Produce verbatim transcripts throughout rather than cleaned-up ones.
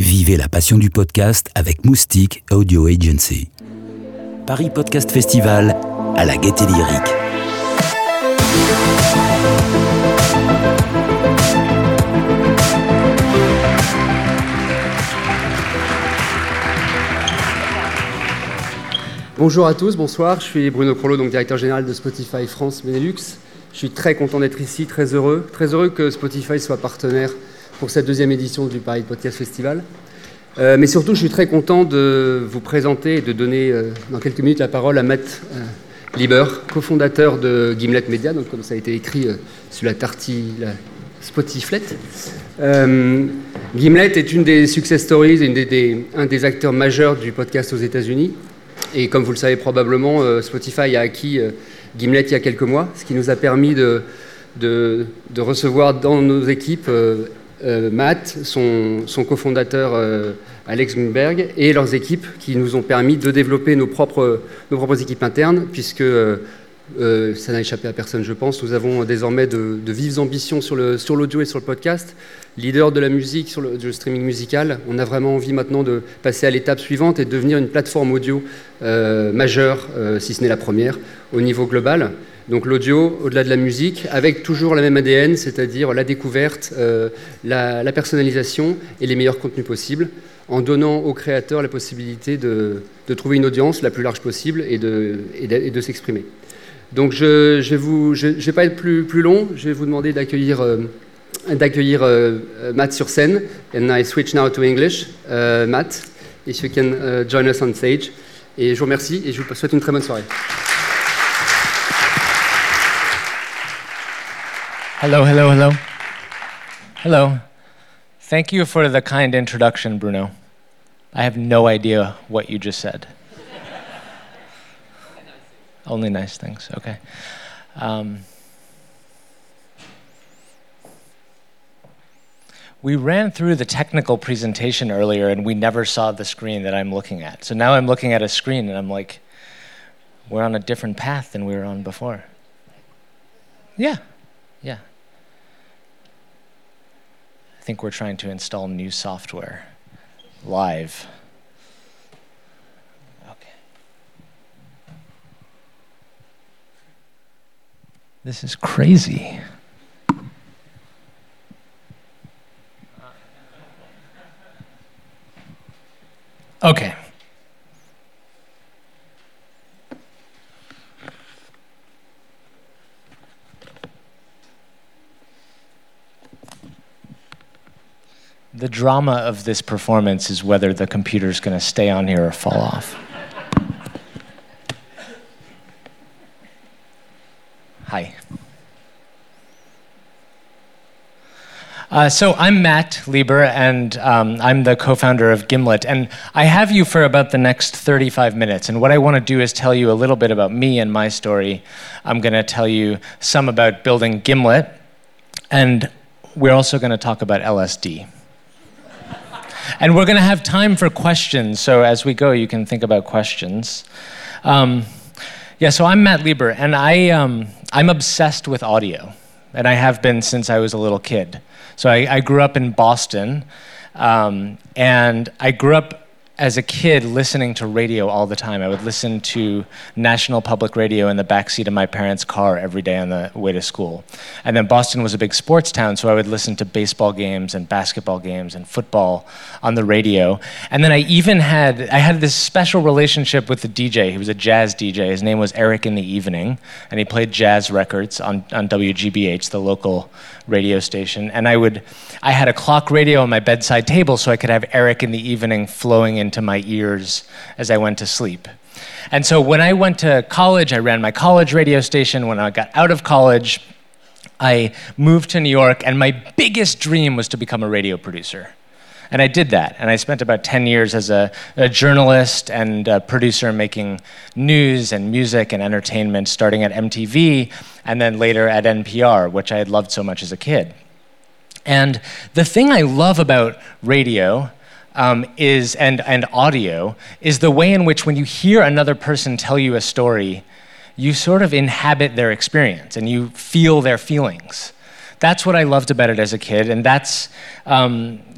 Vivez la passion du podcast avec Moustique Audio Agency. Paris Podcast Festival à la Gaîté Lyrique. Bonjour à tous, bonsoir, je suis Bruno Crollo, donc directeur général de Spotify France Benelux. Je suis très content d'être ici, très heureux, très heureux que Spotify soit partenaire pour cette deuxième édition du Paris Podcast Festival. Euh, mais surtout, je suis très content de vous présenter et de donner euh, dans quelques minutes la parole à Matt euh, Lieber, cofondateur de Gimlet Media, donc comme ça a été écrit euh, sur la tartine, la Spotiflet. Euh, Gimlet est une des success stories, une des, des, un des acteurs majeurs du podcast aux États-Unis. Et comme vous le savez probablement, euh, Spotify a acquis euh, Gimlet il y a quelques mois, ce qui nous a permis de, de, de recevoir dans nos équipes euh, euh, Matt, son, son cofondateur euh, Alex Greenberg, et leurs équipes qui nous ont permis de développer nos propres, nos propres équipes internes, puisque euh, euh, ça n'a échappé à personne, je pense. Nous avons désormais de, de vives ambitions sur, le, sur l'audio et sur le podcast. Leader de la musique, sur le, du streaming musical, on a vraiment envie maintenant de passer à l'étape suivante et de devenir une plateforme audio euh, majeure, euh, si ce n'est la première, au niveau global. Donc l'audio, au-delà de la musique, avec toujours la même A D N, c'est-à-dire la découverte, euh, la, la personnalisation et les meilleurs contenus possibles, en donnant aux créateurs la possibilité de, de trouver une audience la plus large possible et de, et de, et de s'exprimer. Donc je ne vais, je, je vais pas être plus, plus long, je vais vous demander d'accueillir... Euh, d'accueillir uh, Matt sur scène. And I switch now to English. Uh, Matt, if you can uh, join us on stage. Et je vous remercie et je vous souhaite une très bonne soirée. Hello, hello, hello. Hello. Thank you for the kind introduction, Bruno. I have no idea what you just said. Only nice things, okay. Um, We ran through the technical presentation earlier and we never saw the screen that I'm looking at. So now I'm looking at a screen and I'm like, we're on a different path than we were on before. Yeah, yeah. I think we're trying to install new software live. Okay. This is crazy. Okay. The drama of this performance is whether the computer's going to stay on here or fall off. Hi. Uh, so I'm Matt Lieber, and um, I'm the co-founder of Gimlet, and I have you for about the next thirty-five minutes, and what I want to do is tell you a little bit about me and my story. I'm going to tell you some about building Gimlet, and we're also going to talk about L S D. And we're going to have time for questions, so as we go, you can think about questions. Um, yeah, so I'm Matt Lieber, and I, um, I'm obsessed with audio, and I have been since I was a little kid. So I, I grew up in Boston, um, and I grew up as a kid listening to radio all the time. I would listen to National Public Radio in the backseat of my parents' car every day on the way to school. And then Boston was a big sports town, so I would listen to baseball games and basketball games and football on the radio. And then I even had, I had this special relationship with the D J. He was a jazz D J. His name was Eric in the Evening, and he played jazz records on, on W G B H, the local radio station. And I would, I had a clock radio on my bedside table so I could have Eric in the Evening flowing into my ears as I went to sleep. And so when I went to college, I ran my college radio station. When I got out of college, I moved to New York, and my biggest dream was to become a radio producer. And I did that, and I spent about ten years as a, a journalist and a producer making news and music and entertainment, starting at M T V and then later at N P R, which I had loved so much as a kid. And the thing I love about radio um, is and, and audio is the way in which when you hear another person tell you a story, you sort of inhabit their experience and you feel their feelings. That's what I loved about it as a kid, and that's um,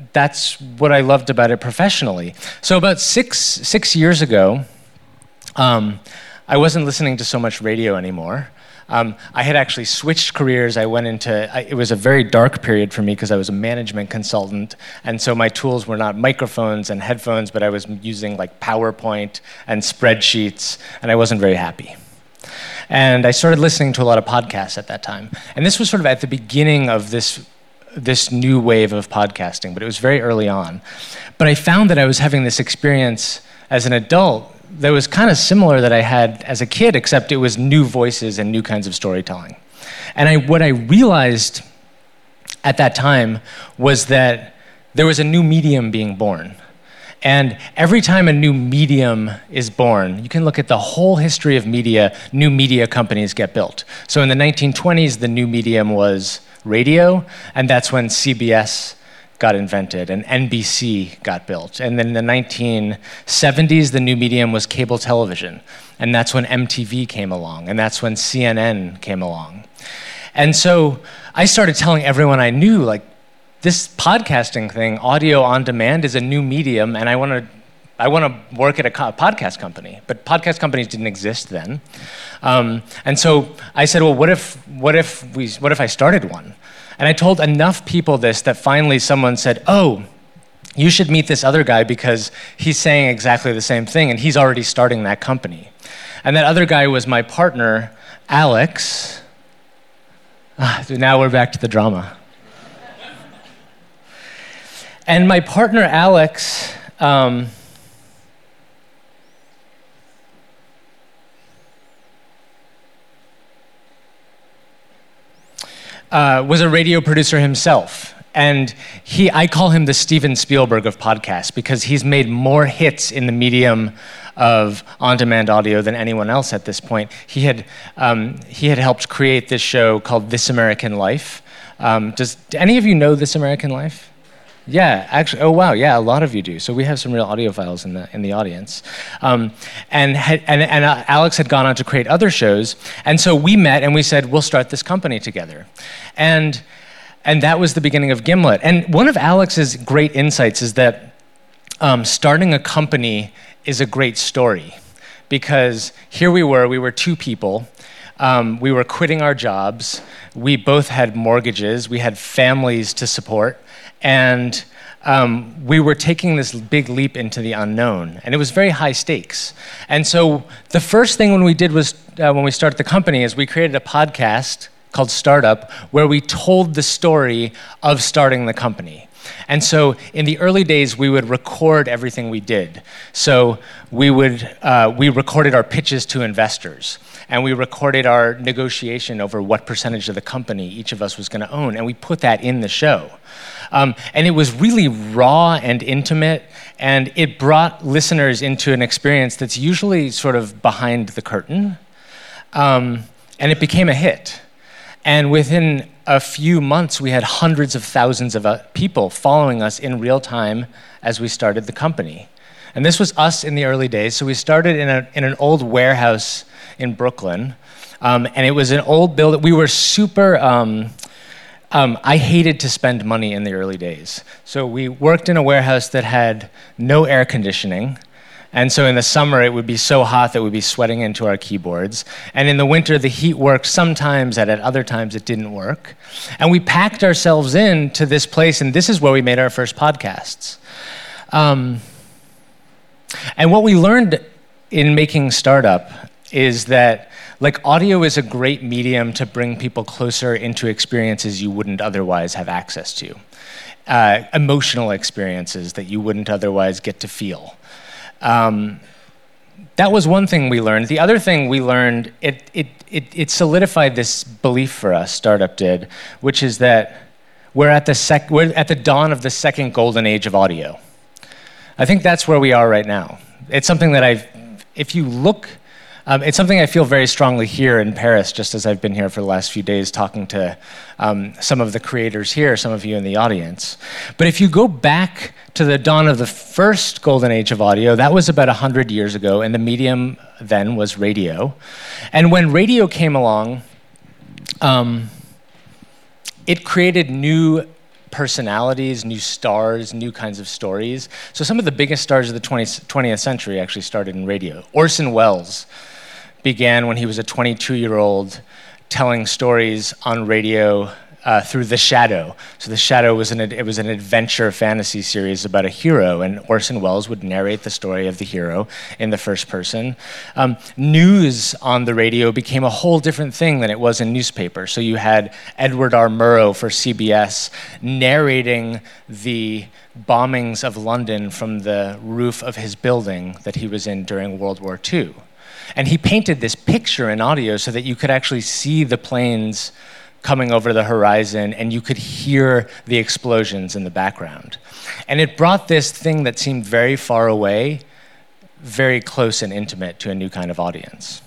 that's what I loved about it professionally. So about six six years ago, um, I wasn't listening to so much radio anymore. Um, I had actually switched careers. I went into, I, it was a very dark period for me because I was a management consultant, and so my tools were not microphones and headphones, but I was using like PowerPoint and spreadsheets, and I wasn't very happy. And I started listening to a lot of podcasts at that time. And this was sort of at the beginning of this, this new wave of podcasting, but it was very early on. But I found that I was having this experience as an adult that was kind of similar that I had as a kid, except it was new voices and new kinds of storytelling. And I, what I realized at that time was that there was a new medium being born. And every time a new medium is born, you can look at the whole history of media, new media companies get built. So in the nineteen twenties, the new medium was radio, and that's when C B S got invented, and N B C got built. And then in the nineteen seventies, the new medium was cable television, and that's when M T V came along, and that's when C N N came along. And so I started telling everyone I knew, like, this podcasting thing, audio on demand, is a new medium, and I want to I want to work at a co- podcast company. But podcast companies didn't exist then. Um, and so I said, well, what if what if we what if I started one? And I told enough people this that finally someone said, oh, you should meet this other guy because he's saying exactly the same thing, and he's already starting that company. And that other guy was my partner, Alex. Ah, so now we're back to the drama. And my partner, Alex, um, Uh, was a radio producer himself. And he, I call him the Steven Spielberg of podcasts because he's made more hits in the medium of on-demand audio than anyone else at this point. He had, um, he had helped create this show called This American Life. Um, does do any of you know This American Life? Yeah, actually, oh wow, yeah, a lot of you do. So we have some real audiophiles in the in the audience. Um, and, had, and and uh, Alex had gone on to create other shows, and so we met and we said, we'll start this company together. And and that was the beginning of Gimlet. And one of Alex's great insights is that um, starting a company is a great story, because here we were, we were two people, um, we were quitting our jobs, we both had mortgages, we had families to support, and um, we were taking this big leap into the unknown, and it was very high stakes. And so the first thing when we did was, uh, when we started the company, is we created a podcast called Startup, where we told the story of starting the company. And so in the early days, we would record everything we did. So we would uh, we recorded our pitches to investors, and we recorded our negotiation over what percentage of the company each of us was going to own, and we put that in the show. Um, and it was really raw and intimate, and it brought listeners into an experience that's usually sort of behind the curtain. Um, and it became a hit. And within a few months, we had hundreds of thousands of uh, people following us in real time as we started the company. And this was us in the early days. So we started in, a, in an old warehouse in Brooklyn. Um, and it was an old building. We were super... Um, Um, I hated to spend money in the early days. So we worked in a warehouse that had no air conditioning. And so in the summer, it would be so hot that we'd be sweating into our keyboards. And in the winter, the heat worked sometimes, and at other times it didn't work. And we packed ourselves in to this place, and this is where we made our first podcasts. Um, and what we learned in making Startup is that like audio is a great medium to bring people closer into experiences you wouldn't otherwise have access to. Uh, emotional experiences that you wouldn't otherwise get to feel. Um, that was one thing we learned. The other thing we learned, it, it, it, it solidified this belief for us, Startup did, which is that we're at the sec- we're at the dawn of the second golden age of audio. I think that's where we are right now. It's something that I've, if you look, Um, it's something I feel very strongly here in Paris, just as I've been here for the last few days talking to um, some of the creators here, some of you in the audience. But if you go back to the dawn of the first golden age of audio, that was about one hundred years ago, and the medium then was radio. And when radio came along, um, it created new personalities, new stars, new kinds of stories. So some of the biggest stars of the twentieth century actually started in radio. Orson Welles began when he was a twenty-two-year-old telling stories on radio uh, through The Shadow. So The Shadow was an it was an adventure fantasy series about a hero, and Orson Welles would narrate the story of the hero in the first person. Um, news on the radio became a whole different thing than it was in newspaper. So you had Edward R. Murrow for C B S narrating the bombings of London from the roof of his building that he was in during World War Two. And he painted this picture in audio so that you could actually see the planes coming over the horizon and you could hear the explosions in the background. And it brought this thing that seemed very far away, very close and intimate to a new kind of audience.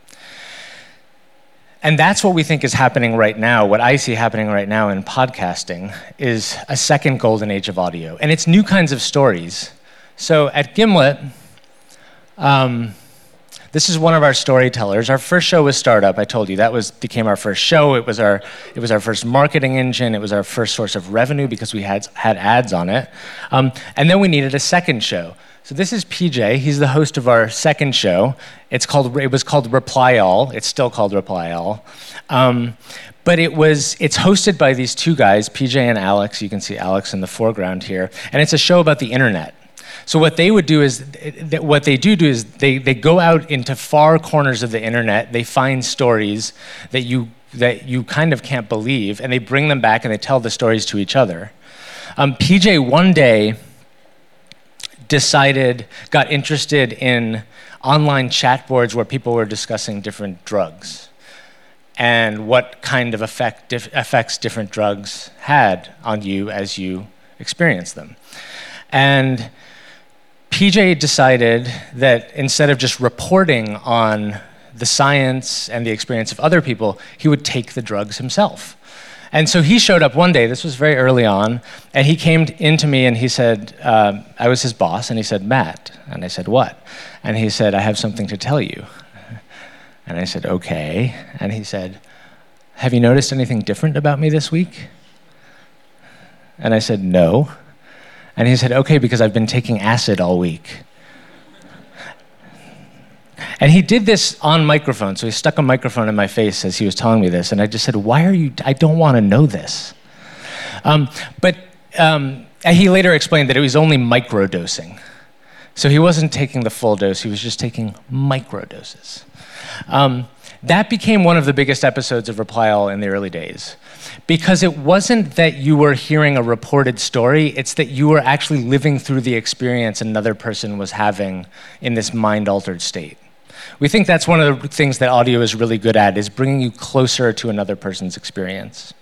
And that's what we think is happening right now. What I see happening right now in podcasting is a second golden age of audio. And it's new kinds of stories. So at Gimlet, um, this is one of our storytellers. Our first show was Startup. I told you that was became our first show. It was our it was our first marketing engine. It was our first source of revenue because we had had ads on it. Um, and then we needed a second show. So this is P J. He's the host of our second show. It's called it was called Reply All. It's still called Reply All. Um, but it was it's hosted by these two guys, P J and Alex. You can see Alex in the foreground here. And it's a show about the internet. So what they would do is, what they do do is they, they go out into far corners of the internet, they find stories that you that you kind of can't believe, and they bring them back and they tell the stories to each other. Um, P J one day decided, got interested in online chat boards where people were discussing different drugs and what kind of effect, dif- effects different drugs had on you as you experienced them. And P J decided that instead of just reporting on the science and the experience of other people, he would take the drugs himself. And so he showed up one day, this was very early on, and he came into me and he said, uh, I was his boss, and he said, Matt. And I said, what? And he said, I have something to tell you. And I said, okay. And he said, have you noticed anything different about me this week? And I said, no. And he said, okay, because I've been taking acid all week. And he did this on microphone, so he stuck a microphone in my face as he was telling me this, and I just said, why are you, I don't want to know this. Um, but um, he later explained that it was only microdosing. So he wasn't taking the full dose, he was just taking microdoses. Um, that became one of the biggest episodes of Reply All in the early days. Because it wasn't that you were hearing a reported story, it's that you were actually living through the experience another person was having in this mind-altered state. We think that's one of the things that audio is really good at, is bringing you closer to another person's experience.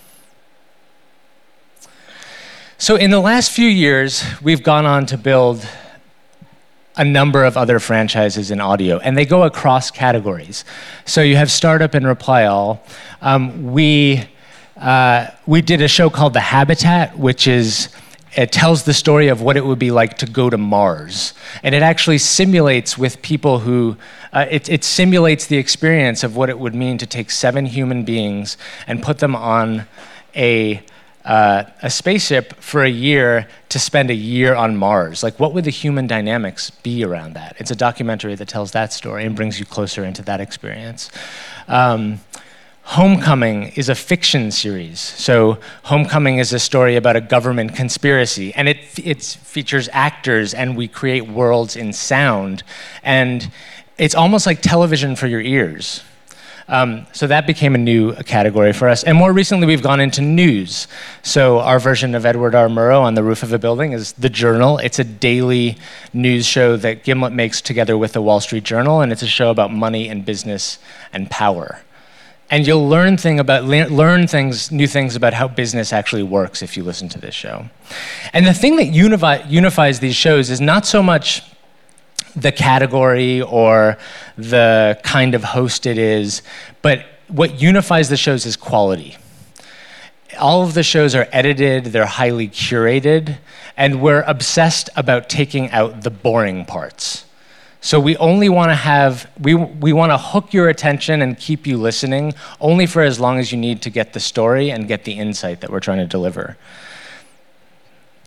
So in the last few years, we've gone on to build a number of other franchises in audio, and they go across categories. So you have Startup and Reply All. Um, we, uh, we did a show called The Habitat, which is, it tells the story of what it would be like to go to Mars. And it actually simulates with people who, uh, it, it simulates the experience of what it would mean to take seven human beings and put them on a Uh, a spaceship for a year to spend a year on Mars. Like, what would the human dynamics be around that? It's a documentary that tells that story and brings you closer into that experience. Um, Homecoming is a fiction series. So Homecoming is a story about a government conspiracy, and it it features actors, and we create worlds in sound, and it's almost like television for your ears. Um, so that became a new category for us. And more recently, we've gone into news. So our version of Edward R. Murrow on the roof of a building is The Journal. It's a daily news show that Gimlet makes together with the Wall Street Journal, and it's a show about money and business and power. And you'll learn thing about learn things, new things about how business actually works if you listen to this show. And the thing that unify, unifies these shows is not so much the category or the kind of host it is, but what unifies the shows is quality. All of the shows are edited, they're highly curated, and we're obsessed about taking out the boring parts. So we only want to have, we, we want to hook your attention and keep you listening only for as long as you need to get the story and get the insight that we're trying to deliver.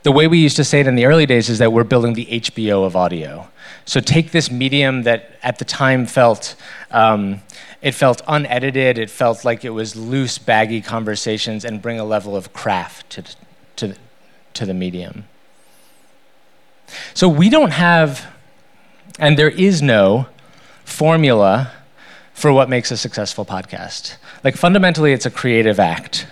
the way we used to say it in the early days is that we're building the H B O of audio. So take this medium that at the time felt, um, it felt unedited, it felt like it was loose, baggy conversations, and bring a level of craft to, to, to the medium. So we don't have, and there is no formula for what makes a successful podcast. Like fundamentally, it's a creative act.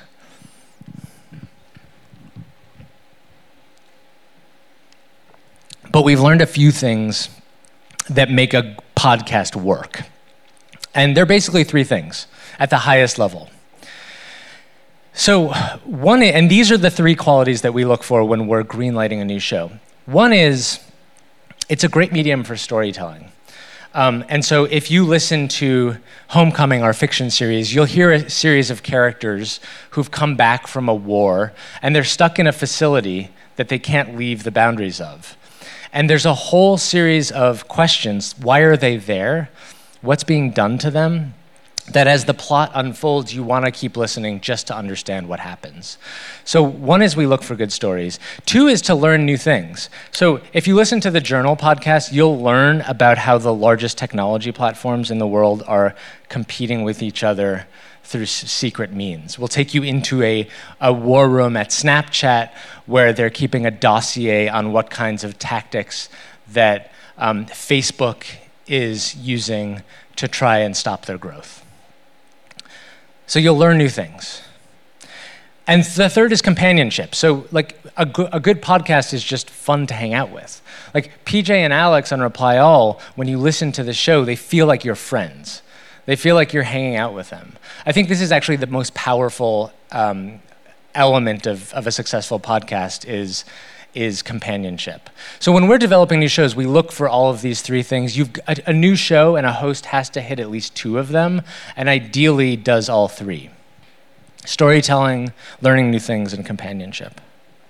But we've learned a few things that make a podcast work. And they're basically three things at the highest level. So one, and these are the three qualities that we look for when we're greenlighting a new show. One is, it's a great medium for storytelling. Um, and so if you listen to Homecoming, our fiction series, you'll hear a series of characters who've come back from a war, and they're stuck in a facility that they can't leave the boundaries of. And there's a whole series of questions. Why are they there? What's being done to them? That as the plot unfolds, you want to keep listening just to understand what happens. So one is we look for good stories. Two is to learn new things. So if you listen to the Journal podcast, you'll learn about how the largest technology platforms in the world are competing with each other through secret means. We'll take you into a, a war room at Snapchat where they're keeping a dossier on what kinds of tactics that um, Facebook is using to try and stop their growth. So you'll learn new things. And the third is companionship. So like a, go- a good podcast is just fun to hang out with. Like P J and Alex on Reply All, when you listen to the show, they feel like you're friends. They feel like you're hanging out with them. I think this is actually the most powerful um, element of, of a successful podcast is, is companionship. So when we're developing new shows, we look for all of these three things. You've a, a new show and a host has to hit at least two of them, and ideally does all three. Storytelling, learning new things, and companionship.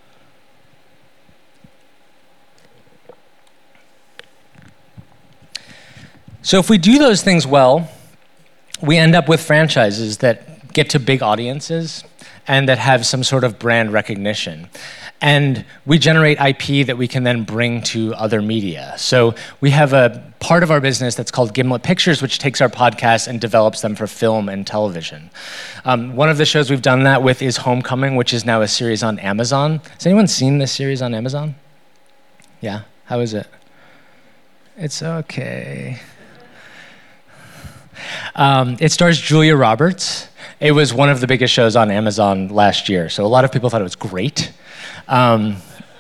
So if we do those things well, we end up with franchises that get to big audiences and that have some sort of brand recognition. And we generate I P that we can then bring to other media. So we have a part of our business that's called Gimlet Pictures, which takes our podcasts and develops them for film and television. Um, one of the shows we've done that with is Homecoming, which is now a series on Amazon. Has anyone seen this series on Amazon? Yeah? How is it? It's okay. Um, it stars Julia Roberts. It was one of the biggest shows on Amazon last year, so a lot of people thought it was great. Um,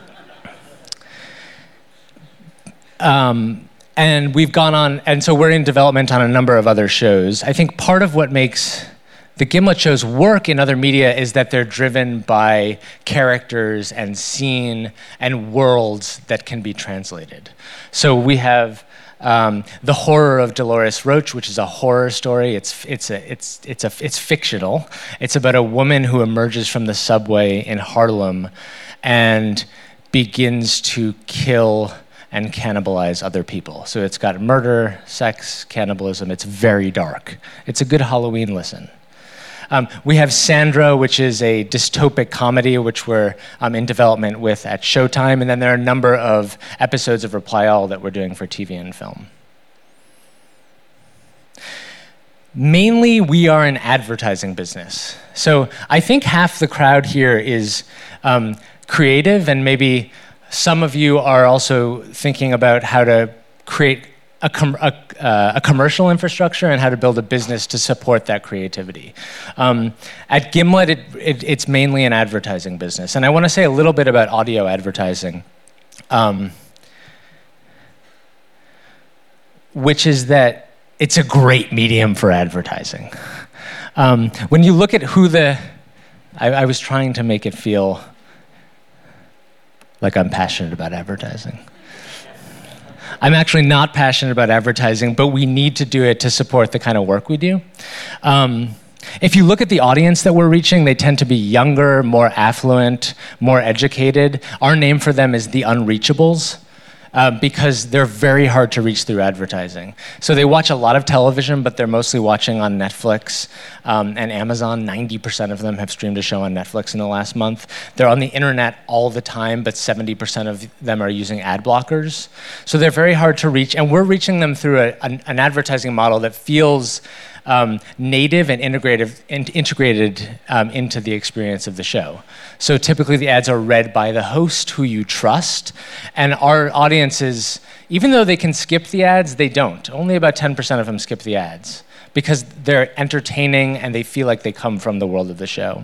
um, and we've gone on, and so we're in development on a number of other shows. I think part of what makes the Gimlet shows work in other media is that they're driven by characters and scene and worlds that can be translated. So we have Um, The Horror of Dolores Roach, which is a horror story. It's it's a it's it's a it's fictional. It's about a woman who emerges from the subway in Harlem and begins to kill and cannibalize other people. So it's got murder, sex, cannibalism. It's very dark. It's a good Halloween listen. Um, we have Sandra, which is a dystopic comedy, which we're um, in development with at Showtime. And then there are a number of episodes of Reply All that we're doing for T V and film. Mainly, we are an advertising business. So I think half the crowd here is um, creative, and maybe some of you are also thinking about how to create A, com- a, uh, a commercial infrastructure and how to build a business to support that creativity. Um, at Gimlet, it, it, it's mainly an advertising business. And I want to say a little bit about audio advertising, um, which is that it's a great medium for advertising. Um, when you look at who the... I, I was trying to make it feel like I'm passionate about advertising. I'm actually not passionate about advertising, but we need to do it to support the kind of work we do. Um, if you look at the audience that we're reaching, they tend to be younger, more affluent, more educated. Our name for them is the Unreachables. uh, because they're very hard to reach through advertising. So they watch a lot of television, but they're mostly watching on Netflix um, and Amazon. ninety percent of them have streamed a show on Netflix in the last month. They're on the internet all the time, but seventy percent of them are using ad blockers. So they're very hard to reach, and we're reaching them through a, an, an advertising model that feels Um, native and integrated, in, integrated um, into the experience of the show. So typically the ads are read by the host who you trust, and our audiences, even though they can skip the ads, they don't. Only about ten percent of them skip the ads because they're entertaining and they feel like they come from the world of the show.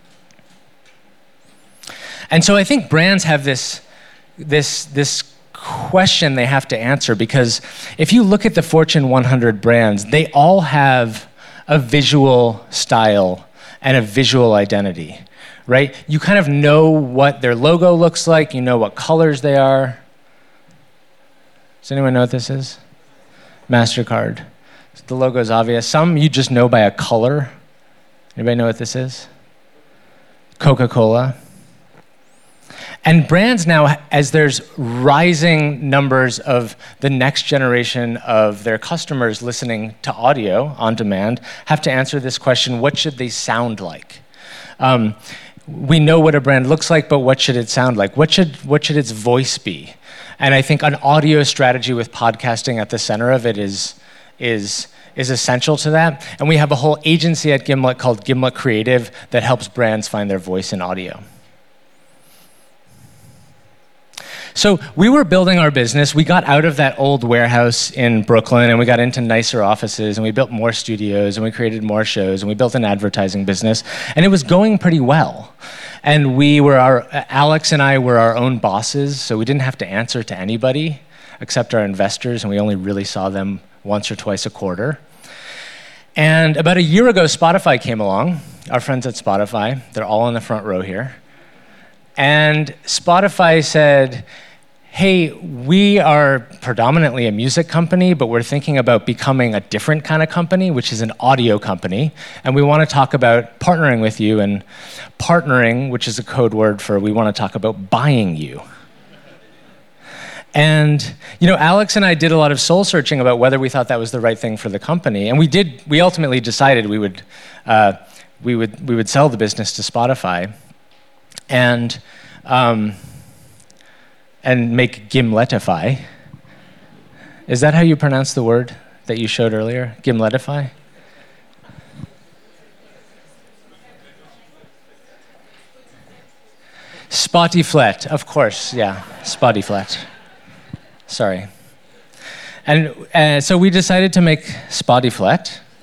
And so I think brands have this, this, this question they have to answer, because if you look at the Fortune one hundred brands, they all have a visual style and a visual identity, right? You kind of know what their logo looks like, you know what colors they are. Does anyone know what this is? MasterCard. The logo is obvious. Some you just know by a color. Anybody know what this is? Coca-Cola. And brands now, as there's rising numbers of the next generation of their customers listening to audio on demand, have to answer this question: what should they sound like? Um, we know what a brand looks like, but what should it sound like? What should, what should its voice be? And I think an audio strategy with podcasting at the center of it is, is, is essential to that. And we have a whole agency at Gimlet called Gimlet Creative that helps brands find their voice in audio. So we were building our business. We got out of that old warehouse in Brooklyn, and we got into nicer offices, and we built more studios, and we created more shows, and we built an advertising business, and it was going pretty well. And we were our, Alex and I were our own bosses, so we didn't have to answer to anybody except our investors, and we only really saw them once or twice a quarter. And about a year ago, Spotify came along, our friends at Spotify. They're all in the front row here. And Spotify said, hey, we are predominantly a music company, but we're thinking about becoming a different kind of company, which is an audio company. And we want to talk about partnering with you. And partnering, which is a code word for we want to talk about buying you. And you know, Alex and I did a lot of soul searching about whether we thought that was the right thing for the company. And we did. We ultimately decided we would, uh, we would, we would sell the business to Spotify. And um, and make Gimletify. Is that how you pronounce the word that you showed earlier? Gimletify? Spotify, of course, yeah, Spotify. Sorry. And uh, so we decided to make Spotify.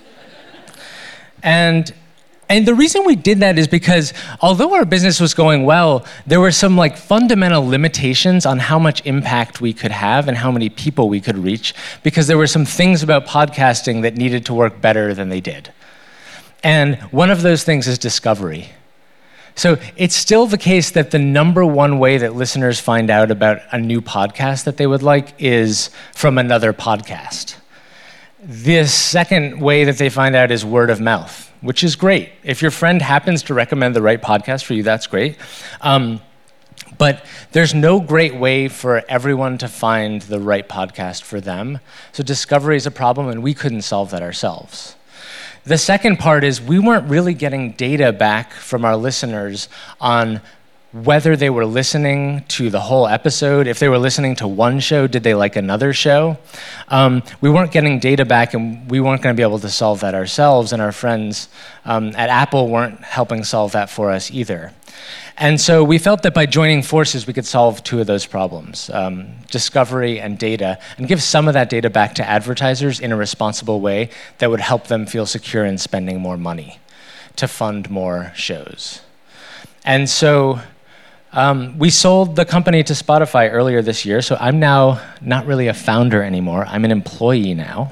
And And the reason we did that is because although our business was going well, there were some like fundamental limitations on how much impact we could have and how many people we could reach, because there were some things about podcasting that needed to work better than they did. And one of those things is discovery. So it's still the case that the number one way that listeners find out about a new podcast that they would like is from another podcast. The second way that they find out is word of mouth, which is great. If your friend happens to recommend the right podcast for you, that's great. Um, but there's no great way for everyone to find the right podcast for them. So discovery is a problem, and we couldn't solve that ourselves. The second part is we weren't really getting data back from our listeners on whether they were listening to the whole episode. If they were listening to one show, did they like another show? Um, we weren't getting data back, and we weren't going to be able to solve that ourselves, and our friends um, at Apple weren't helping solve that for us either. And so we felt that by joining forces, we could solve two of those problems, um, discovery and data, and give some of that data back to advertisers in a responsible way that would help them feel secure in spending more money to fund more shows. And so Um, we sold the company to Spotify earlier this year, so I'm now not really a founder anymore. I'm an employee now.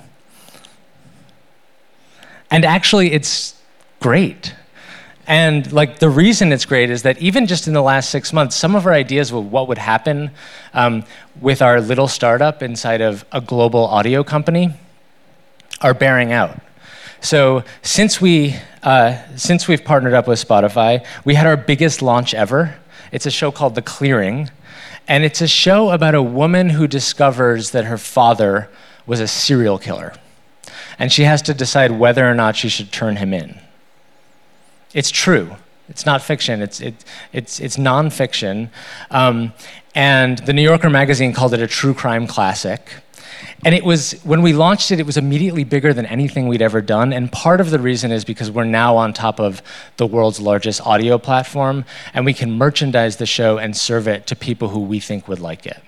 And actually, it's great. And like the reason it's great is that even just in the last six months, some of our ideas of what would happen um, with our little startup inside of a global audio company are bearing out. So since we uh, since we've partnered up with Spotify, we had our biggest launch ever. It's a show called The Clearing, And it's a show about a woman who discovers that her father was a serial killer. And she has to decide whether or not she should turn him in. It's true. It's not fiction. It's it, it's it's nonfiction. Um, and the New Yorker magazine called it a true crime classic. And it was, when we launched it, it was immediately bigger than anything we'd ever done. And part of the reason is because we're now on top of the world's largest audio platform, and we can merchandise the show and serve it to people who we think would like it.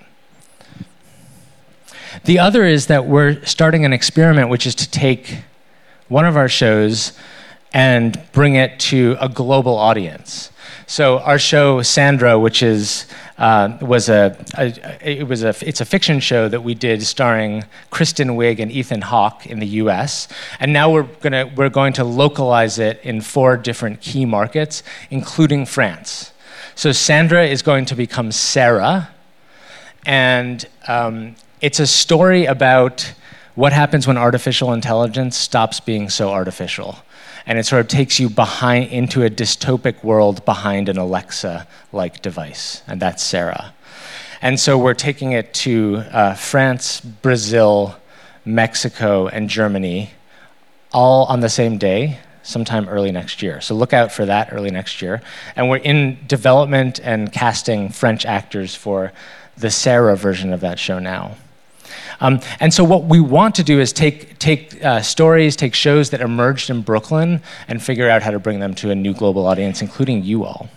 The other is that we're starting an experiment, which is to take one of our shows and bring it to a global audience. So our show Sandra, which is uh, was a, a it was a it's a fiction show that we did starring Kristen Wiig and Ethan Hawke in the U S, and now we're gonna we're going to localize it in four different key markets, including France. So Sandra is going to become Sarah, and um, it's a story about what happens when artificial intelligence stops being so artificial. And it sort of takes you behind into a dystopic world behind an Alexa-like device, and that's Sarah. And so we're taking it to uh, France, Brazil, Mexico, and Germany, all on the same day, sometime early next year. So look out for that early next year. And we're in development and casting French actors for the Sarah version of that show now. Um, and so what we want to do is take take uh, stories, take shows that emerged in Brooklyn and figure out how to bring them to a new global audience, including you all.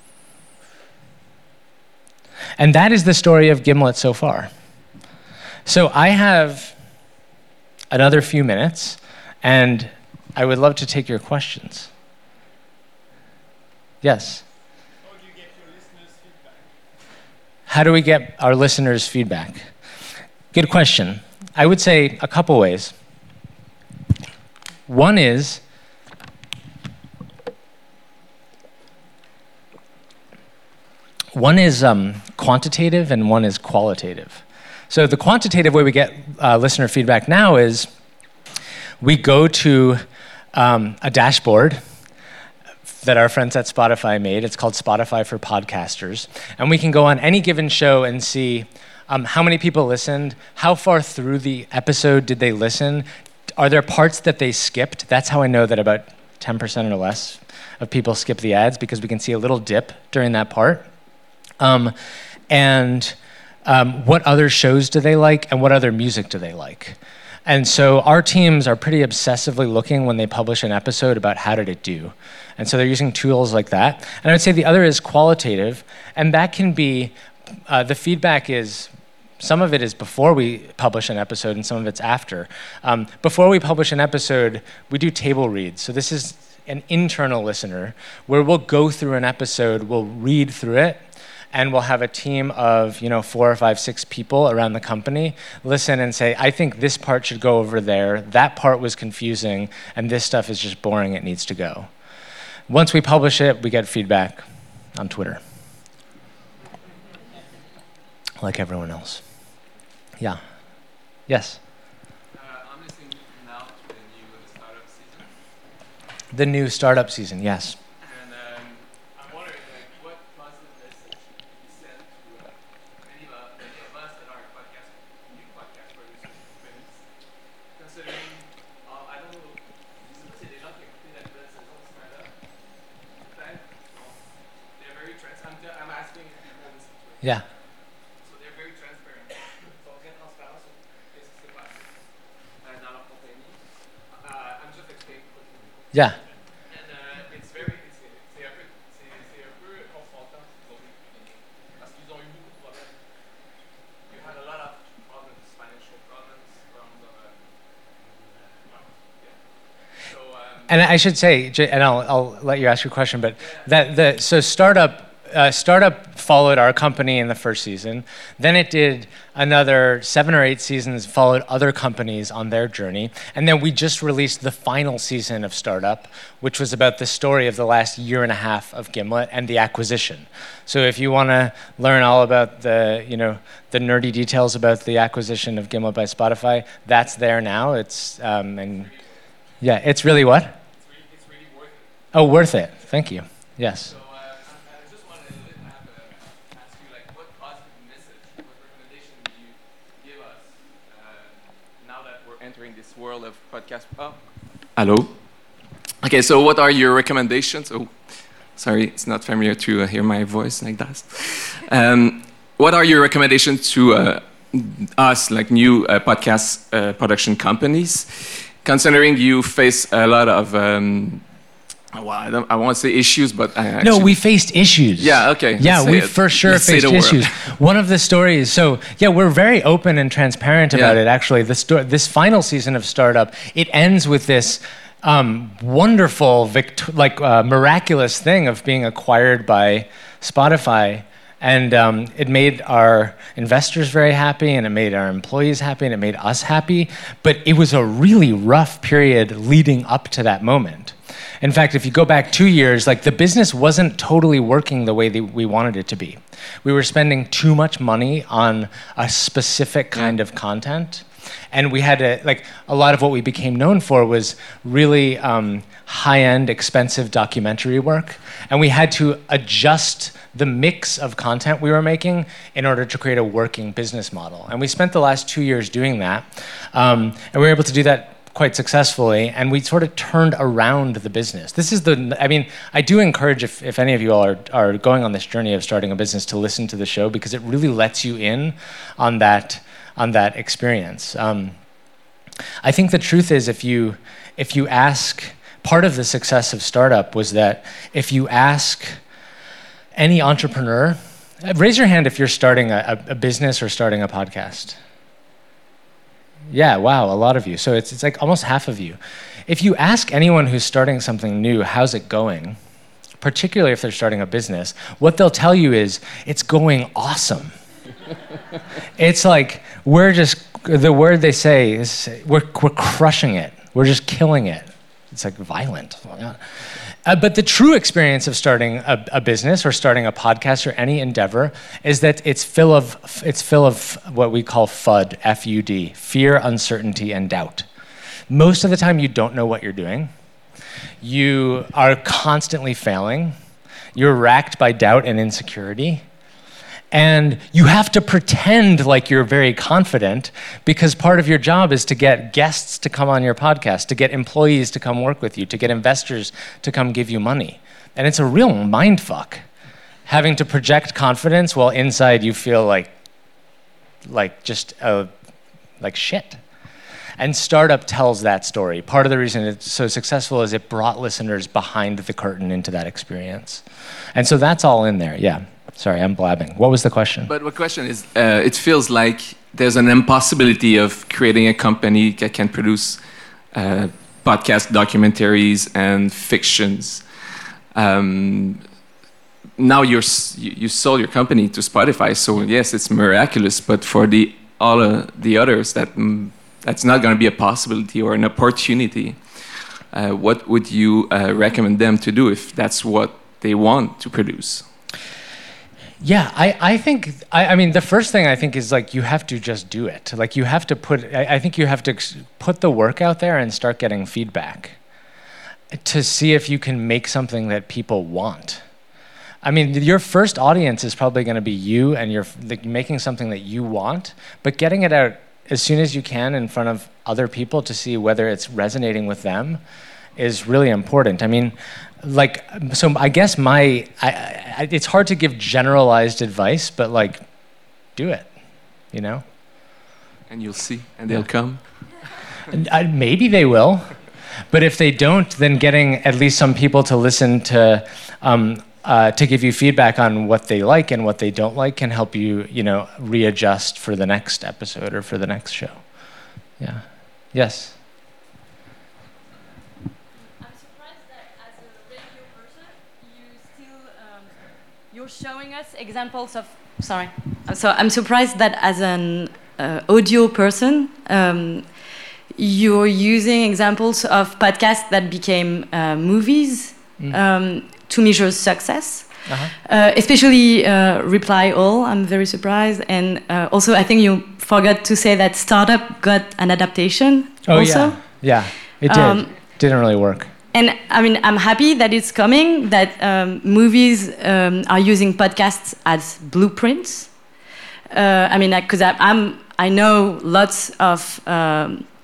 And that is the story of Gimlet so far. So I have another few minutes, and I would love to take your questions. Yes? How do you get your listeners' feedback? How do we get our listeners' feedback? Good question. I would say a couple ways. One is, one is um, quantitative and one is qualitative. So the quantitative way we get uh, listener feedback now is we go to um, a dashboard that our friends at Spotify made. It's called Spotify for Podcasters. And we can go on any given show and see Um, how many people listened? How far through the episode did they listen? Are there parts that they skipped? That's how I know that about ten percent or less of people skip the ads, because we can see a little dip during that part. Um, and um, what other shows do they like, and what other music do they like? And so our teams are pretty obsessively looking when they publish an episode about how did it do. And so they're using tools like that. And I would say the other is qualitative, and that can be, uh, the feedback is, some of it is before we publish an episode and some of it's after. Um, before we publish an episode, we do table reads. So this is an internal listener where we'll go through an episode, we'll read through it, and we'll have a team of, you know, four or five, six people around the company listen and say, I think this part should go over there, that part was confusing, and this stuff is just boring, it needs to go. Once we publish it, we get feedback on Twitter, like everyone else. Yeah. Yes? Uh, I'm listening now to the new startup season. The new startup season, yes. And um, I'm wondering, like, what positive message you send to uh, many, of, uh, many of us that are podcast, new podcast producers, friends, considering, uh, I don't know, je sais pas s'il y a des gens qui ont écouté la nouvelle saison de startup. Peut-être. Donc, they're very transparent. I'm asking if people listen to it. Yeah. Yeah. And uh, it's very, it's, c'est un peu, c'est, c'est un peu confrontant pour les beginning, parce qu'ils ont eu beaucoup de problèmes. You had a lot of problems, financial problems, problems of, uh, well, yeah. So, um, and I should say, and I'll, I'll let you ask your question, but that the so startup. Uh, Startup followed our company in the first season. Then it did another seven or eight seasons, followed other companies on their journey. And then we just released the final season of Startup, which was about the story of the last year and a half of Gimlet and the acquisition. So if you want to learn all about the, you know, the nerdy details about the acquisition of Gimlet by Spotify, that's there now. It's, um, and yeah, it's really what? It's really, it's really worth it. Oh, worth it. Thank you. Yes. So, uh, I just wanted to have a, ask you, like, what positive entering this world of podcast. Oh, hello. Okay, so what are your recommendations? Oh, sorry, it's not familiar to uh, hear my voice like that. Um, what are your recommendations to uh, us, like new uh, podcast uh, production companies, considering you face a lot of, um, well, I, don't, I won't say issues, but I actually... No, we faced issues. Yeah, okay. Yeah, we it. for sure let's faced issues. One of the stories, so yeah, we're very open and transparent about yeah. it, actually. The sto- this final season of Startup, it ends with this um, wonderful, vict- like uh, miraculous thing of being acquired by Spotify. And um, it made our investors very happy, and it made our employees happy, and it made us happy. But it was a really rough period leading up to that moment. In fact, if you go back two years, like the business wasn't totally working the way that we wanted it to be. We were spending too much money on a specific kind of content. And we had to, like, a lot of what we became known for was really um, high-end, expensive documentary work. And we had to adjust the mix of content we were making in order to create a working business model. And we spent the last two years doing that. Um, and we were able to do that quite successfully, and we sort of turned around the business. This is the, I mean, I do encourage if, if any of you all are, are going on this journey of starting a business to listen to the show, because it really lets you in on that on that experience. Um, I think the truth is, if you if you ask, part of the success of Startup was that if you ask any entrepreneur, raise your hand if you're starting a, a business or starting a podcast. Yeah, wow, a lot of you. So it's it's like almost half of you. If you ask anyone who's starting something new, how's it going, particularly if they're starting a business, what they'll tell you is, it's going awesome. It's like, we're just, the word they say is, we're we're crushing it. We're just killing it. It's like violent. Uh, but the true experience of starting a, a business or starting a podcast or any endeavor is that it's full of it's full of what we call FUD, F U D, fear, uncertainty, and doubt. Most of the time, you don't know what you're doing. You are constantly failing. You're racked by doubt and insecurity. And you have to pretend like you're very confident, because part of your job is to get guests to come on your podcast, to get employees to come work with you, to get investors to come give you money. And it's a real mind fuck, having to project confidence while inside you feel like, like just uh, like shit. And Startup tells that story. Part of the reason it's so successful is it brought listeners behind the curtain into that experience. And so that's all in there, yeah. Sorry, I'm blabbing. What was the question? But the question is, uh, it feels like there's an impossibility of creating a company that can produce uh, podcast documentaries and fictions. Um, now you're, you, you sold your company to Spotify, so yes, it's miraculous. But for the all uh, the others, that mm, that's not going to be a possibility or an opportunity. Uh, what would you uh, recommend them to do if that's what they want to produce? Yeah, I, I think, I, I mean, the first thing I think is like, you have to just do it. Like you have to put, I, I think you have to put the work out there and start getting feedback to see if you can make something that people want. I mean, your first audience is probably going to be you, and you're like, making something that you want, but getting it out as soon as you can in front of other people to see whether it's resonating with them is really important. I mean, like, so I guess my, I, I, it's hard to give generalized advice, but like, do it, you know? And you'll see, and they'll come. And, uh, maybe they will, but if they don't, then getting at least some people to listen to, um, uh, to give you feedback on what they like and what they don't like can help you, you know, readjust for the next episode or for the next show. Yeah. Yes? You're showing us examples of, sorry. So I'm surprised that as an uh, audio person, um, you're using examples of podcasts that became uh, movies mm. um, to measure success. Uh-huh. Uh, especially uh, Reply All, I'm very surprised. And uh, also, I think you forgot to say that Startup got an adaptation oh, also. yeah. Yeah, it did. Um, Didn't really work. And I mean, I'm happy that it's coming, that um, movies um, are using podcasts as blueprints. Uh, I mean, because I'm, I know lots of um,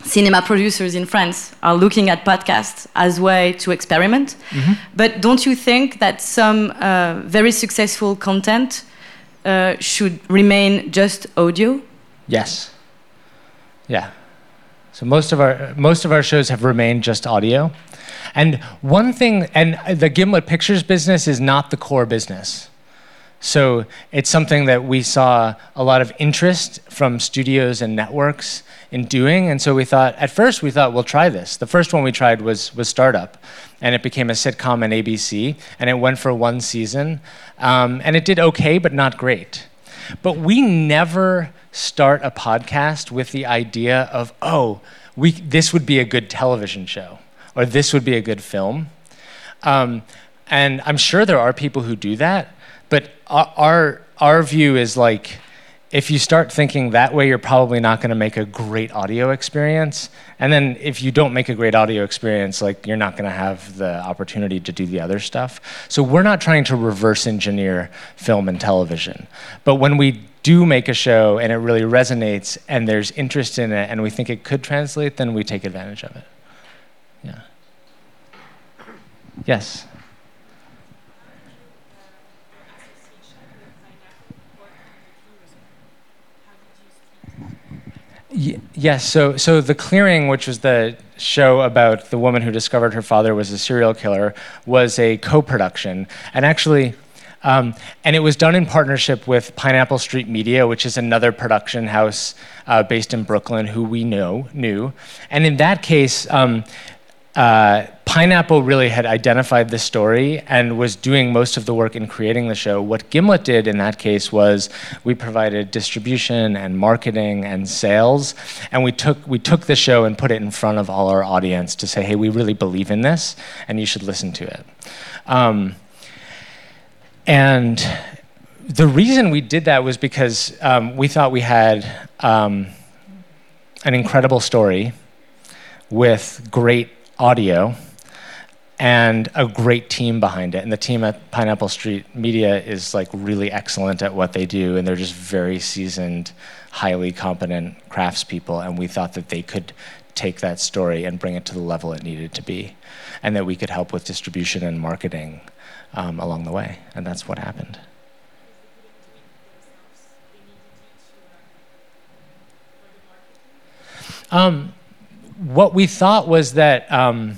cinema producers in France are looking at podcasts as a way to experiment. Mm-hmm. But don't you think that some uh, very successful content uh, should remain just audio? Yes. Yeah. So most of our most of our shows have remained just audio. And one thing, and the Gimlet Pictures business is not the core business. So it's something that we saw a lot of interest from studios and networks in doing, and so we thought, at first we thought, we'll try this. The first one we tried was was Startup, and it became a sitcom on A B C, and it went for one season, um, and it did okay, but not great. But we never start a podcast with the idea of, oh, we this would be a good television show, or this would be a good film. Um, and I'm sure there are people who do that, but our, our our view is like, if you start thinking that way, you're probably not going to make a great audio experience. And then if you don't make a great audio experience, like, you're not going to have the opportunity to do the other stuff. So we're not trying to reverse engineer film and television. But when we do make a show and it really resonates and there's interest in it and we think it could translate, then we take advantage of it. Yeah. Yes. Yes, so so The Clearing, which was the show about the woman who discovered her father was a serial killer, was a co-production. And actually, um, and it was done in partnership with Pineapple Street Media, which is another production house uh, based in Brooklyn who we know, knew. And in that case, um, uh, Pineapple really had identified the story and was doing most of the work in creating the show. What Gimlet did in that case was we provided distribution and marketing and sales, and we took we took the show and put it in front of all our audience to say, hey, we really believe in this, and you should listen to it. Um, and the reason we did that was because um, we thought we had um, an incredible story with great audio and a great team behind it. And the team at Pineapple Street Media is like really excellent at what they do, and they're just very seasoned, highly competent craftspeople, and we thought that they could take that story and bring it to the level it needed to be, and that we could help with distribution and marketing um, along the way, and that's what happened. Um, what we thought was that um,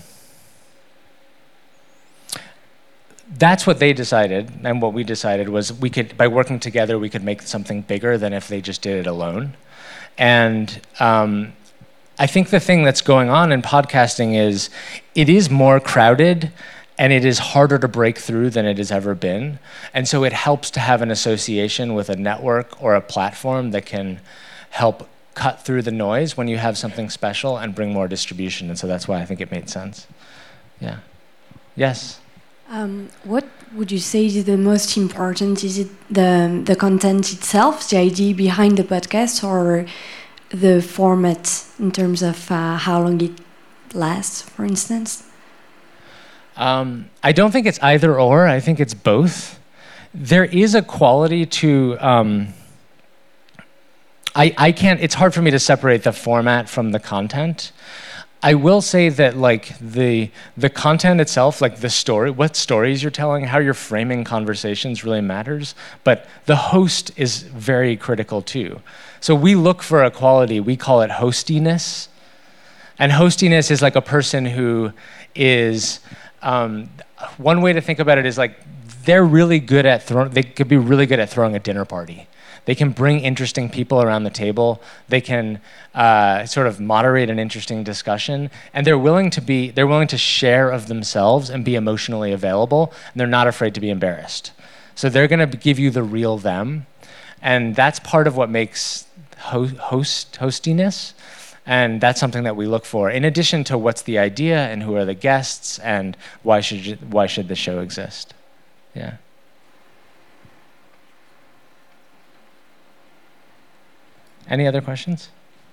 that's what they decided, and what we decided was we could, by working together, we could make something bigger than if they just did it alone. And um, I think the thing that's going on in podcasting is it is more crowded and it is harder to break through than it has ever been. And so it helps to have an association with a network or a platform that can help cut through the noise when you have something special and bring more distribution. And so that's why I think it made sense. Yeah. Yes? Um, what would you say is the most important? Is it the the content itself, the idea behind the podcast, or the format in terms of uh, how long it lasts, for instance? Um, I don't think it's either or. I think it's both. There is a quality to... Um, I, I can't... It's hard for me to separate the format from the content. I will say that, like, the the content itself, like the story, what stories you're telling, how you're framing conversations really matters, but the host is very critical too. So we look for a quality, we call it hostiness. And hostiness is like a person who is, um, one way to think about it is like, they're really good at throwing, they could be really good at throwing a dinner party. They can bring interesting people around the table. They can uh, sort of moderate an interesting discussion, and they're willing to be, they're willing to share of themselves and be emotionally available, and they're not afraid to be embarrassed. So they're gonna give you the real them, and that's part of what makes ho- host hostiness, and that's something that we look for, in addition to what's the idea and who are the guests and why should you, why should the show exist? Yeah. Any other questions?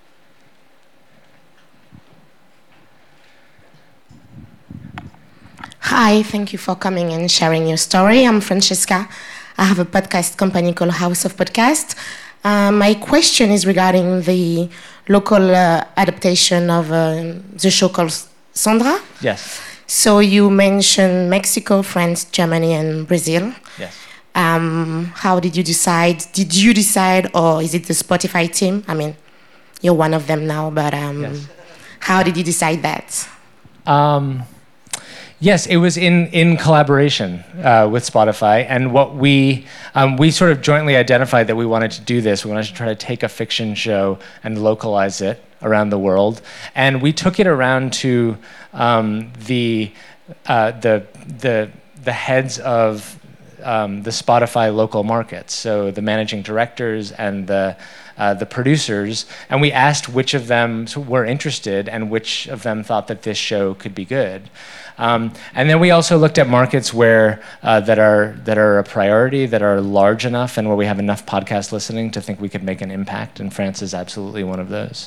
Hi, thank you for coming and sharing your story. I'm Francesca. I have a podcast company called House of Podcast. Uh, my question is regarding the local uh, adaptation of uh, the show called Sandra. Yes. So you mentioned Mexico, France, Germany, and Brazil. Yes. Um, how did you decide? Did you decide, or is it the Spotify team? I mean, you're one of them now, but um, yes. How did you decide that? Um, yes, it was in, in collaboration uh, with Spotify, and what we um, we sort of jointly identified that we wanted to do this. We wanted to try to take a fiction show and localize it around the world, and we took it around to um, the uh, the the the heads of um, the Spotify local markets, so the managing directors and the Uh, the producers, and we asked which of them were interested and which of them thought that this show could be good. Um, and then we also looked at markets where uh, that are that are a priority, that are large enough, and where we have enough podcast listening to think we could make an impact. And France is absolutely one of those.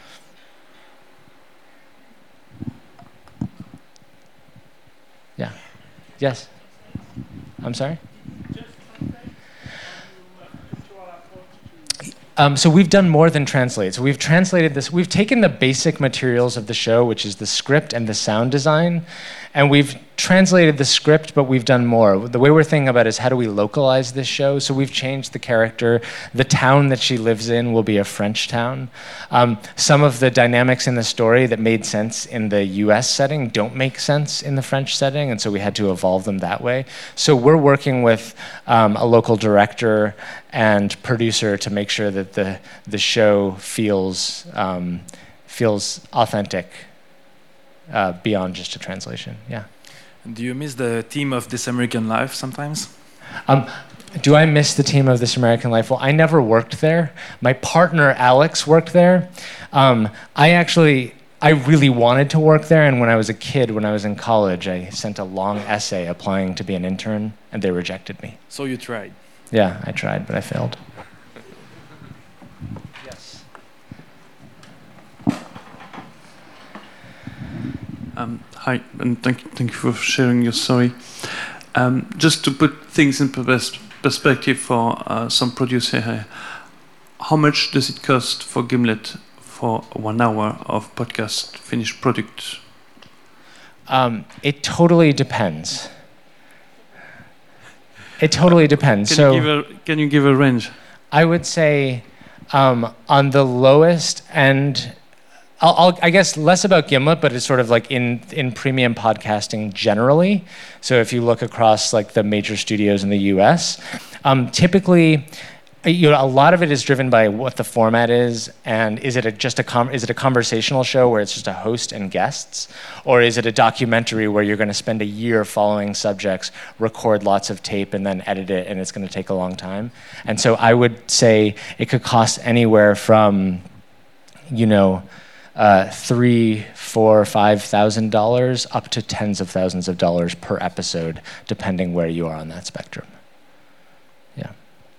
Yeah. Yes. I'm sorry? Um, so we've done more than translate. So we've translated this. We've taken the basic materials of the show, which is the script and the sound design, and we've translated the script, but we've done more. The way we're thinking about it is how do we localize this show? So we've changed the character. The town that she lives in will be a French town. Um, some of the dynamics in the story that made sense in the U S setting don't make sense in the French setting, and so we had to evolve them that way. So we're working with um, a local director and producer to make sure that the the show feels um, feels authentic uh, beyond just a translation. Yeah. Do you miss the theme of This American Life sometimes? Um, do I miss the team of This American Life? Well, I never worked there. My partner Alex worked there. Um, I actually, I really wanted to work there, and when I was a kid, when I was in college, I sent a long essay applying to be an intern, and they rejected me. So you tried? Yeah, I tried, but I failed. Yes. Um, hi, and thank, thank you for sharing your story. Um, just to put things in pers- perspective for uh, some producer here, how much does it cost for Gimlet for one hour of podcast finished product? Um, it totally depends. It totally depends. Can, so you give a, can you give a range? I would say um, on the lowest end, I'll, I'll, I guess less about Gimlet, but it's sort of like in, in premium podcasting generally. So if you look across like the major studios in the U S, um, typically, you know, a lot of it is driven by what the format is, and is it a, just a com- is it a conversational show where it's just a host and guests, or is it a documentary where you're going to spend a year following subjects, record lots of tape, and then edit it, and it's going to take a long time. And so I would say it could cost anywhere from, you know, uh, three, four, five thousand dollars up to tens of thousands of dollars per episode, depending where you are on that spectrum. Yeah.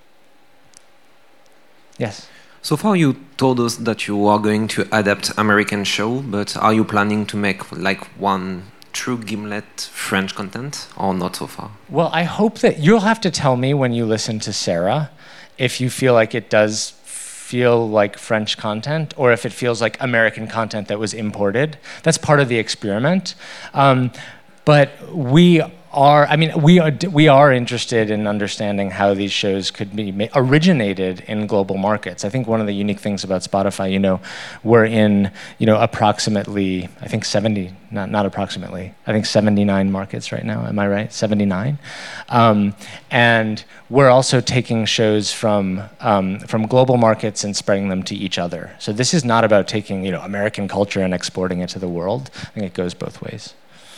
Yes. So far you told us that you are going to adapt American show, but are you planning to make like one true Gimlet French content or not so far? Well, I hope that you'll have to tell me when you listen to Sarah if you feel like it does feel like French content or if it feels like American content that was imported. That's part of the experiment. Um, but we are, I mean, we are, we are interested in understanding how these shows could be ma- originated in global markets. I think one of the unique things about Spotify, you know, we're in, you know, approximately, I think seventy, not, not approximately, I think seventy-nine markets right now. Am I right? seventy-nine. Um, and we're also taking shows from um, from global markets and spreading them to each other. So this is not about taking, you know, American culture and exporting it to the world. I think it goes both ways.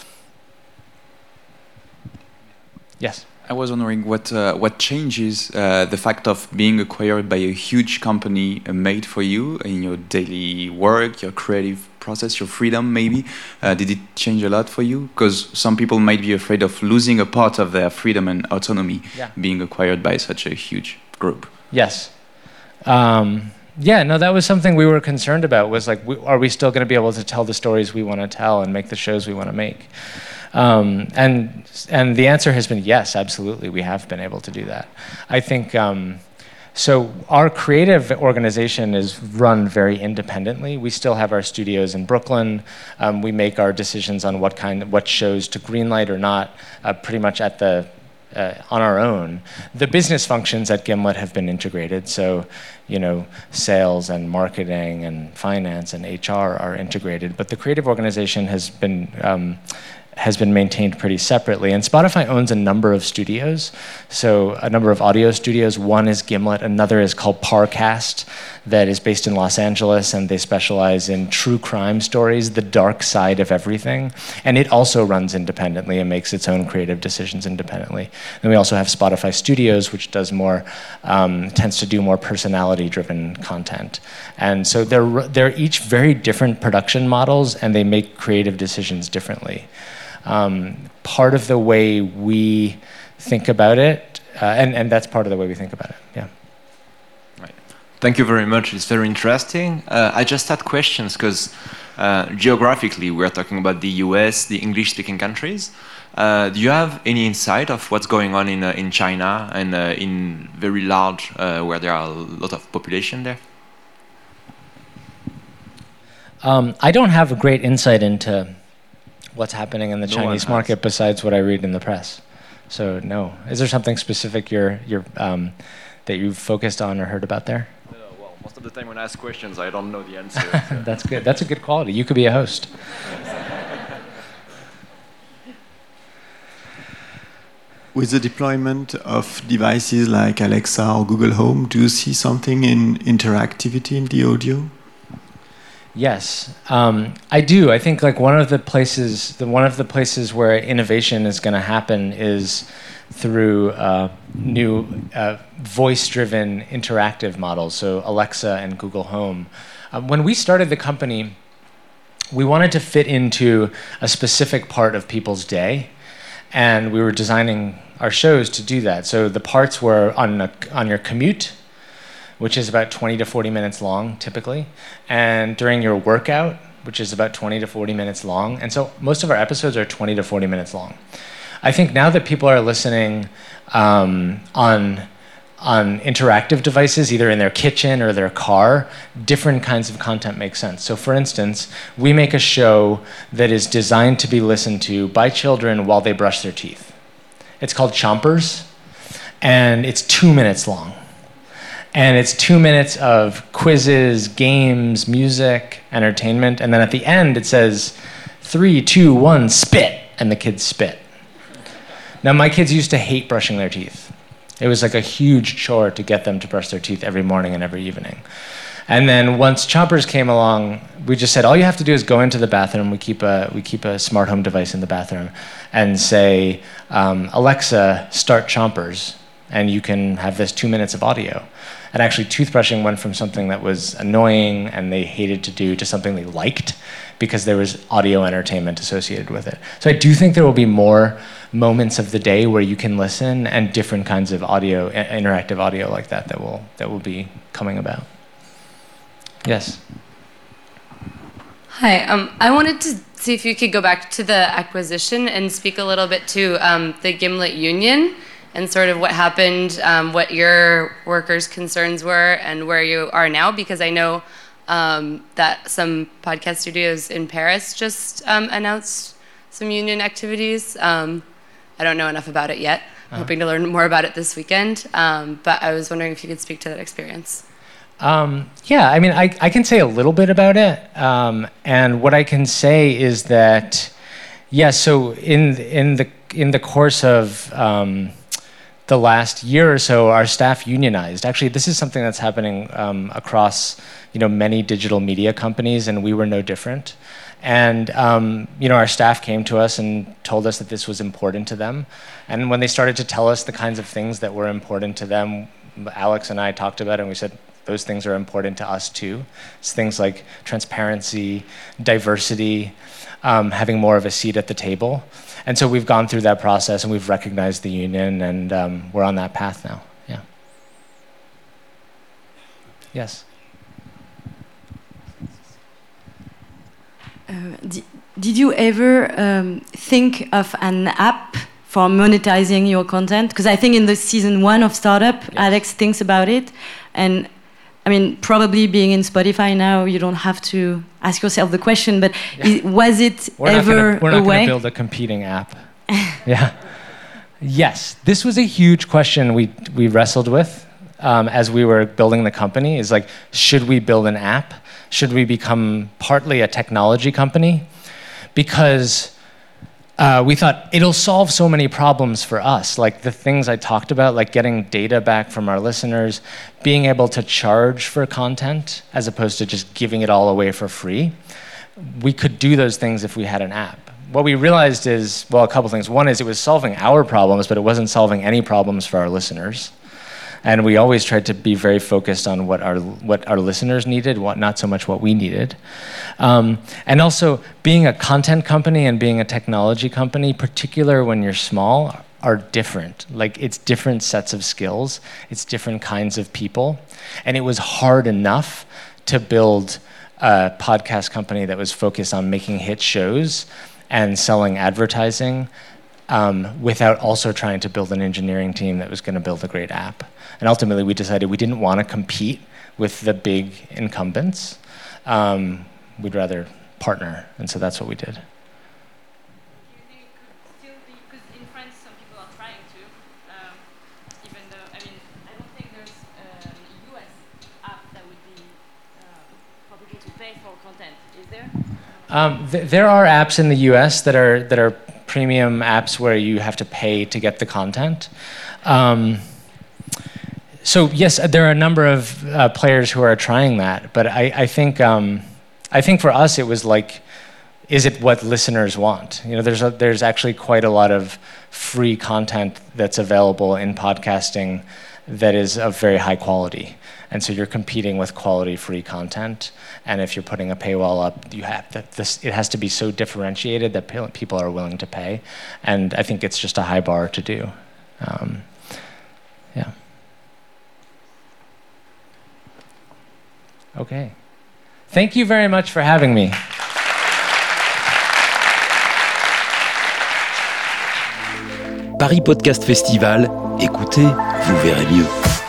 Yes. I was wondering what uh, what changes uh, the fact of being acquired by a huge company uh, made for you in your daily work, your creative process, your freedom maybe. Uh, did it change a lot for you? Because some people might be afraid of losing a part of their freedom and autonomy yeah. being acquired by such a huge group. Yes. Um, yeah, no, that was something we were concerned about, was like, we, are we still going to be able to tell the stories we want to tell and make the shows we want to make? Um, and and the answer has been yes, absolutely. We have been able to do that. I think um, so our creative organization is run very independently. We still have our studios in Brooklyn. Um, we make our decisions on what kind, what shows to greenlight or not, uh, pretty much at the uh, on our own. The business functions at Gimlet have been integrated. So, you know, sales and marketing and finance and H R are integrated. But the creative organization has been um, has been maintained pretty separately. And Spotify owns a number of studios, so a number of audio studios. One is Gimlet, another is called Parcast, that is based in Los Angeles, and they specialize in true crime stories, the dark side of everything. And it also runs independently and makes its own creative decisions independently. Then we also have Spotify Studios, which does more, um, tends to do more personality-driven content. And so they're, they're each very different production models, and they make creative decisions differently. Um, part of the way we think about it, uh, and, and that's part of the way we think about it, yeah. Right. Thank you very much, it's very interesting. Uh, I just had questions because uh, geographically we're talking about the U S, the English-speaking countries. Uh, do you have any insight of what's going on in, uh, in China and uh, in very large, uh, where there are a lot of population there? Um, I don't have a great insight into what's happening in the No Chinese market besides what I read in the press. So no. Is there something specific you're, you're, um, that you've focused on or heard about there? No, well, most of the time when I ask questions, I don't know the answer. So. That's good. That's a good quality. You could be a host. With the deployment of devices like Alexa or Google Home, do you see something in interactivity in the audio? Yes, um, I do. I think like one of the places, the one of the places where innovation is going to happen is through uh, new uh, voice-driven interactive models. So Alexa and Google Home. Um, when we started the company, we wanted to fit into a specific part of people's day, and we were designing our shows to do that. So the parts were on a, on your commute, which is about twenty to forty minutes long, typically, and during your workout, which is about twenty to forty minutes long. And so most of our episodes are twenty to forty minutes long. I think now that people are listening um, on, on interactive devices, either in their kitchen or their car, different kinds of content make sense. So for instance, we make a show that is designed to be listened to by children while they brush their teeth. It's called Chompers, and it's two minutes long. And it's two minutes of quizzes, games, music, entertainment, and then at the end it says, three, two, one, spit, and the kids spit. Now my kids used to hate brushing their teeth. It was like a huge chore to get them to brush their teeth every morning and every evening. And then once Chompers came along, we just said, all you have to do is go into the bathroom, we keep a, we keep a smart home device in the bathroom, and say, um, Alexa, start Chompers, and you can have this two minutes of audio. And actually, toothbrushing went from something that was annoying and they hated to do to something they liked because there was audio entertainment associated with it. So I do think there will be more moments of the day where you can listen, and different kinds of audio, interactive audio like that that will, that will be coming about. Yes? Hi, um, I wanted to see if you could go back to the acquisition and speak a little bit to um, the Gimlet Union, and sort of what happened, um, what your workers' concerns were, and where you are now, because I know um, that some podcast studios in Paris just um, announced some union activities. Um, I don't know enough about it yet. I'm uh-huh. hoping to learn more about it this weekend, um, but I was wondering if you could speak to that experience. Um, yeah, I mean, I, I can say a little bit about it, um, and what I can say is that, yeah, so in, in, the, in the course of um, the last year or so, our staff unionized. Actually, this is something that's happening um, across, you know, many digital media companies, and we were no different. And um, you know, our staff came to us and told us that this was important to them. And when they started to tell us the kinds of things that were important to them, Alex and I talked about it, and we said, those things are important to us too. It's things like transparency, diversity, um, having more of a seat at the table. And so we've gone through that process, and we've recognized the union, and um, we're on that path now. Yeah. Yes. Uh, did, did you ever um, think of an app for monetizing your content? Because I think in the season one of Startup, yes. Alex thinks about it, and I mean, probably being in Spotify now, you don't have to ask yourself the question, but yeah. is, was it we're ever not gonna, we're not a way? We're not going to build a competing app. Yeah. Yes, this was a huge question we we wrestled with um, as we were building the company. Is like, should we build an app? Should we become partly a technology company? Because uh, we thought it'll solve so many problems for us, like the things I talked about, like getting data back from our listeners, being able to charge for content as opposed to just giving it all away for free. We could do those things if we had an app. What we realized is, well, a couple things. One is it was solving our problems, but it wasn't solving any problems for our listeners. And we always tried to be very focused on what our what our listeners needed, what not so much what we needed. Um, and also, being a content company and being a technology company, particular when you're small, are different. Like, it's different sets of skills. It's different kinds of people. And it was hard enough to build a podcast company that was focused on making hit shows and selling advertising um, without also trying to build an engineering team that was going to build a great app. And ultimately, we decided we didn't want to compete with the big incumbents. Um, we'd rather partner, and so that's what we did. Do you think it could still be, because in France some people are trying to, um, even though, I mean, I don't think there's um, a U S app that would be um, for people to pay for content, is there? Um, th- there are apps in the U S that are that are premium apps where you have to pay to get the content. Um, so yes, there are a number of uh, players who are trying that, but I, I think um, I think for us it was like, is it what listeners want? You know, there's a, there's actually quite a lot of free content that's available in podcasting that is of very high quality. And so you're competing with quality free content. And if you're putting a paywall up, you have to, this, it has to be so differentiated that pe- people are willing to pay. And I think it's just a high bar to do. Um, yeah. Okay. Thank you very much for having me. Paris Podcast Festival, écoutez, vous verrez mieux.